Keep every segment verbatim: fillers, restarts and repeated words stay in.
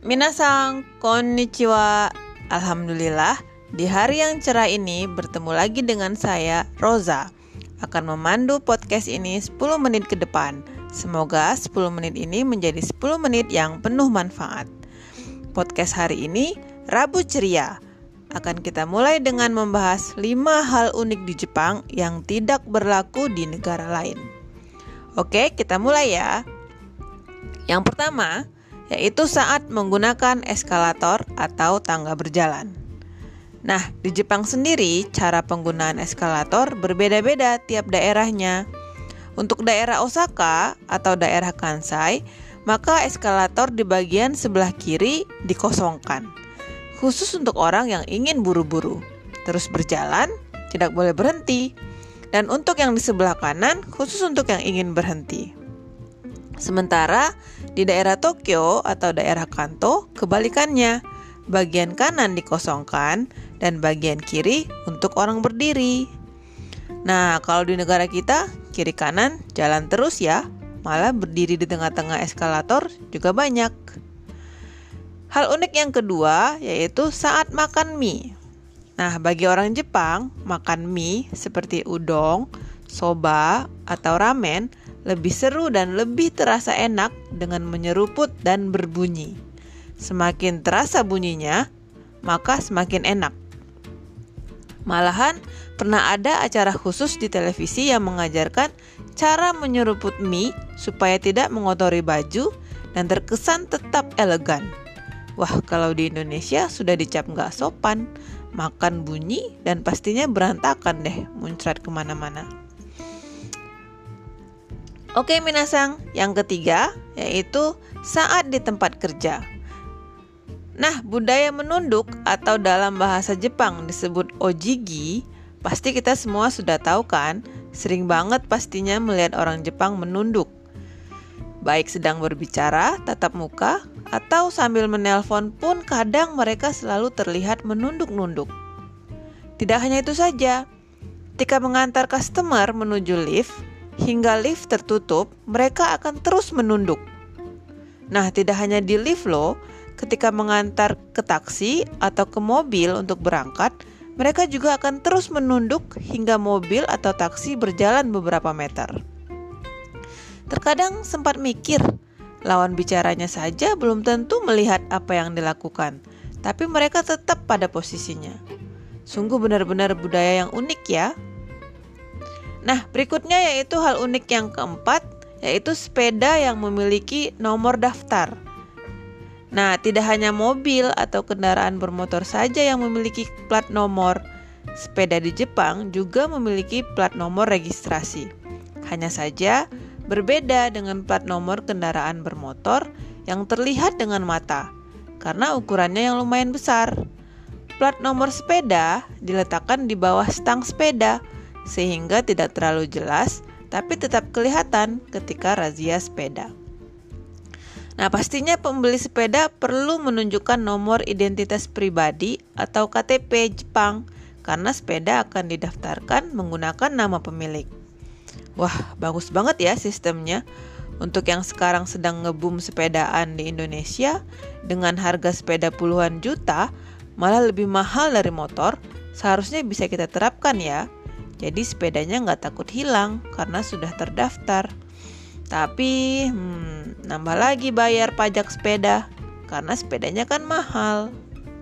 Minasang, konnichiwa. Alhamdulillah, di hari yang cerah ini bertemu lagi dengan saya, Roza. Akan memandu podcast ini sepuluh menit ke depan. Semoga sepuluh menit ini menjadi sepuluh menit yang penuh manfaat. Podcast hari ini, Rabu Ceria. Akan kita mulai dengan membahas lima hal unik di Jepang yang tidak berlaku di negara lain. Oke, kita mulai ya. Yang pertama, yaitu saat menggunakan eskalator atau tangga berjalan. Nah, di Jepang sendiri, cara penggunaan eskalator berbeda-beda tiap daerahnya. Untuk daerah Osaka atau daerah Kansai, maka eskalator di bagian sebelah kiri dikosongkan. Khusus untuk orang yang ingin buru-buru. Terus berjalan, tidak boleh berhenti. Dan untuk yang di sebelah kanan, khusus untuk yang ingin berhenti. Sementara di daerah Tokyo atau daerah Kanto, kebalikannya. Bagian kanan dikosongkan dan bagian kiri untuk orang berdiri. Nah, kalau di negara kita, kiri kanan jalan terus ya. Malah berdiri di tengah-tengah eskalator juga banyak. Hal unik yang kedua yaitu saat makan mie. Nah, bagi orang Jepang, makan mie seperti udon, soba, atau ramen lebih seru dan lebih terasa enak dengan menyeruput dan berbunyi. Semakin terasa bunyinya, maka semakin enak. Malahan pernah ada acara khusus di televisi yang mengajarkan cara menyeruput mie supaya tidak mengotori baju dan terkesan tetap elegan. Wah, kalau di Indonesia sudah dicap nggak sopan, makan bunyi dan pastinya berantakan deh, muncrat kemana-mana. Oke minasang, yang ketiga yaitu saat di tempat kerja. Nah, budaya menunduk atau dalam bahasa Jepang disebut ojigi, pasti kita semua sudah tahu kan? Sering banget pastinya melihat orang Jepang menunduk. Baik sedang berbicara, tatap muka, atau sambil menelpon pun kadang mereka selalu terlihat menunduk-nunduk. Tidak hanya itu saja, ketika mengantar customer menuju lift, hingga lift tertutup, mereka akan terus menunduk. Nah, tidak hanya di lift loh, ketika mengantar ke taksi atau ke mobil untuk berangkat, mereka juga akan terus menunduk hingga mobil atau taksi berjalan beberapa meter. Terkadang sempat mikir, lawan bicaranya saja belum tentu melihat apa yang dilakukan, tapi mereka tetap pada posisinya. Sungguh benar-benar budaya yang unik ya. Nah, berikutnya yaitu hal unik yang keempat, yaitu sepeda yang memiliki nomor daftar. Nah, tidak hanya mobil atau kendaraan bermotor saja yang memiliki plat nomor. Sepeda di Jepang juga memiliki plat nomor registrasi. Hanya saja berbeda dengan plat nomor kendaraan bermotor yang terlihat dengan mata, karena ukurannya yang lumayan besar. Plat nomor sepeda diletakkan di bawah stang sepeda, sehingga tidak terlalu jelas, tapi tetap kelihatan ketika razia sepeda. Nah, pastinya pembeli sepeda perlu menunjukkan nomor identitas pribadi atau K T P Jepang, karena sepeda akan didaftarkan menggunakan nama pemilik. Wah, bagus banget ya sistemnya. Untuk yang sekarang sedang nge-boom sepedaan di Indonesia, dengan harga sepeda puluhan juta, malah lebih mahal dari motor, seharusnya bisa kita terapkan ya. Jadi sepedanya nggak takut hilang karena sudah terdaftar. Tapi hmm, nambah lagi bayar pajak sepeda karena sepedanya kan mahal.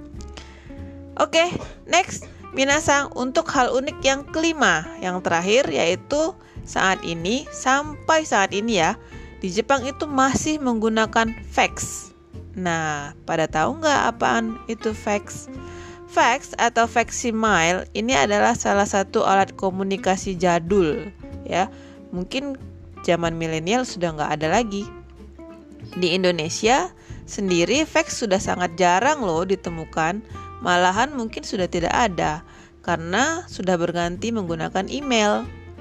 Oke, next. Minasang, untuk hal unik yang kelima, yang terakhir yaitu saat ini, sampai saat ini ya, di Jepang itu masih menggunakan fax. Nah, pada tahu nggak apaan itu fax? Fax atau facsimile ini adalah salah satu alat komunikasi jadul ya. Mungkin zaman milenial sudah nggak ada lagi. Di Indonesia sendiri fax sudah sangat jarang loh ditemukan. Malahan mungkin sudah tidak ada karena sudah berganti menggunakan email.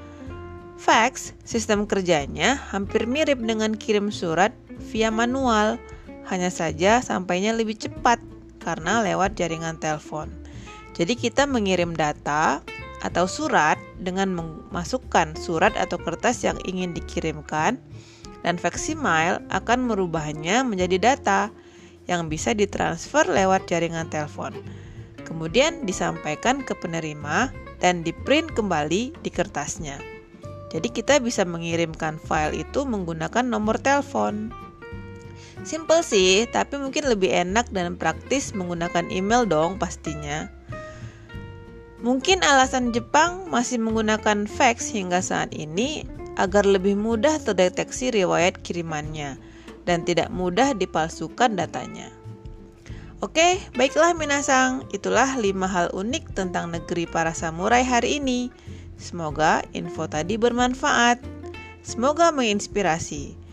Fax, sistem kerjanya hampir mirip dengan kirim surat via manual, hanya saja sampainya lebih cepat karena lewat jaringan telepon. Jadi kita mengirim data atau surat dengan memasukkan surat atau kertas yang ingin dikirimkan, dan facsimile akan merubahnya menjadi data yang bisa ditransfer lewat jaringan telepon. Kemudian disampaikan ke penerima dan di-print kembali di kertasnya. Jadi kita bisa mengirimkan file itu menggunakan nomor telepon. Simple sih, tapi mungkin lebih enak dan praktis menggunakan email dong pastinya. Mungkin alasan Jepang masih menggunakan fax hingga saat ini agar lebih mudah terdeteksi riwayat kirimannya dan tidak mudah dipalsukan datanya. Oke, baiklah minasang, itulah lima hal unik tentang negeri para samurai hari ini. Semoga info tadi bermanfaat. Semoga menginspirasi.